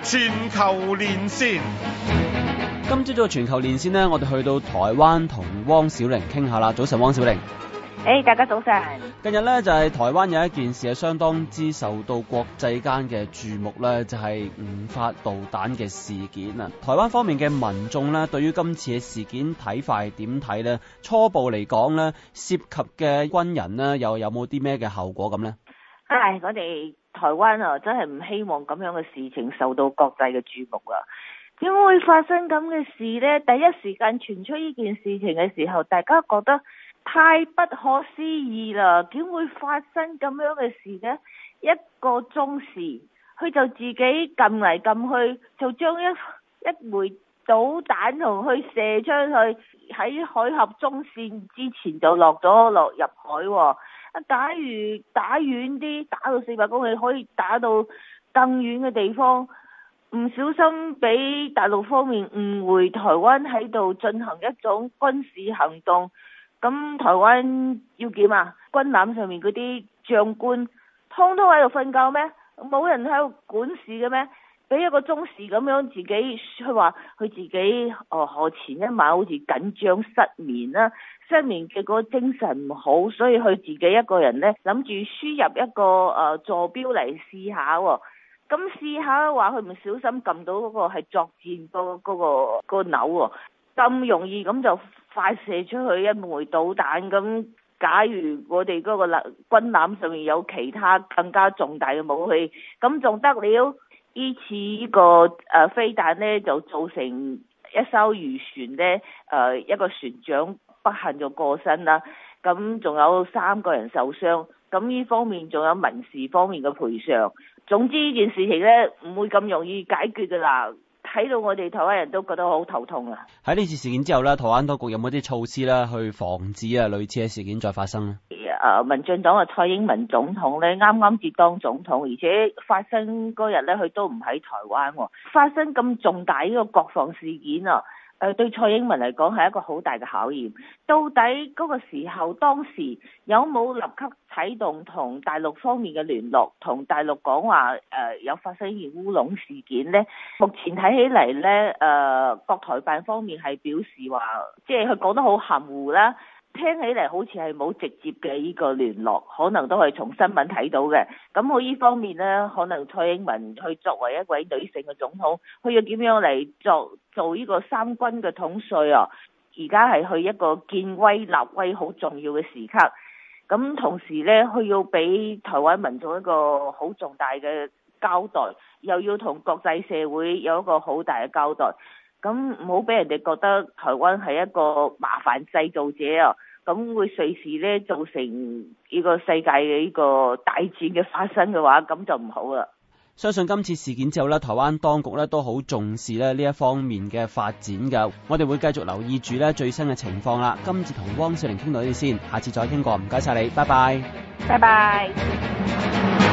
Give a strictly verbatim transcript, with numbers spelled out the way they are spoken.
全球連線， 今朝早嘅全球連線呢，我哋去到台灣同汪小玲傾下啦。早晨，汪小玲。 誒、hey, 大家早晨。 近日呢，就係、是、台灣有一件事係相當之受到國際間嘅注目呢，就係、是、誤發導彈嘅事件啊。台灣方面嘅民眾呢，對於今次嘅事件睇法係點睇呢？初步嚟講呢，涉及嘅軍人呢，又有冇啲咩嘅後果咁呢？ 唉，我哋台灣啊，真係唔希望咁樣嘅事情受到國際嘅注目啊！點會發生咁嘅事呢？第一時間傳出呢件事情嘅時候，大家覺得太不可思議啦！點會發生咁樣嘅事呢？一個鐘時，佢就自己撳嚟撳去，就將一一枚導彈同佢射出去，喺海峽中線之前就落咗落入海喎。假如打遠啲，打到四百公里，可以打到更遠嘅地方，唔小心俾大陸方面誤會台灣喺度進行一種軍事行動，咁台灣要點啊？軍艦上面嗰啲將官通通喺度瞓覺咩？冇人喺度管事嘅咩？俾一個鐘時咁樣自己，佢話佢自己哦，何前一晚好似緊張失眠啦，失眠嘅個精神唔好，所以佢自己一個人呢，諗住輸入一個誒、呃、坐標嚟試下喎。咁試下話佢唔小心撳到嗰個係作戰嗰、嗰個、嗰個鈕喎，咁容易咁就發射出去一枚導彈。咁假如我哋嗰個軍艦上面有其他更加重大嘅武器，咁仲得了？呢次呢個誒飛彈呢，就造成一艘漁船呢，誒一個船長不幸就過身啦，咁仲有三個人受傷，咁呢方面仲有民事方面嘅賠償。總之呢件事情呢，唔會咁容易解決㗎啦，睇到我哋台灣人都覺得好頭痛啊！喺呢次事件之後呢，台灣當局有冇啲措施呢去防止啊類似嘅事件再發生呢？ 誒，民進黨嘅蔡英文總統咧，啱啱接當總統，而且發生嗰日咧，佢都唔喺台灣喎。發生咁重大呢個國防事件啊，誒對蔡英文嚟講係一個好大嘅考驗。到底嗰個時候當時有冇立即啟動同大陸方面嘅聯絡，同大陸講話誒有發生一件烏龍事件呢？目前睇起嚟咧，誒國台辦方面係表示話，即係佢講得好含糊啦。聽起嚟好似係冇直接嘅呢個聯絡，可能都係從新聞睇到嘅。咁我呢方面呢，可能蔡英文去作為一位女性嘅總統，佢要點樣嚟做做呢個三軍嘅統帥啊？而家係去一個建威立威好重要嘅時刻。咁同時呢，佢要俾台灣民眾一個好重大嘅交代，又要同國際社會有一個好大嘅交代。咁唔好俾人哋覺得台灣係一個麻煩製造者啊！咁會隨時咧造成呢個世界嘅呢個大戰嘅發生嘅話，咁就唔好啦。 相信今次事件之後咧，台灣當局咧都好重視咧呢一方面嘅發展㗎。我哋會繼續留意住咧最新嘅情況啦。今次同汪小玲傾到呢啲先，下次再傾過，唔該晒你，拜拜。 拜拜。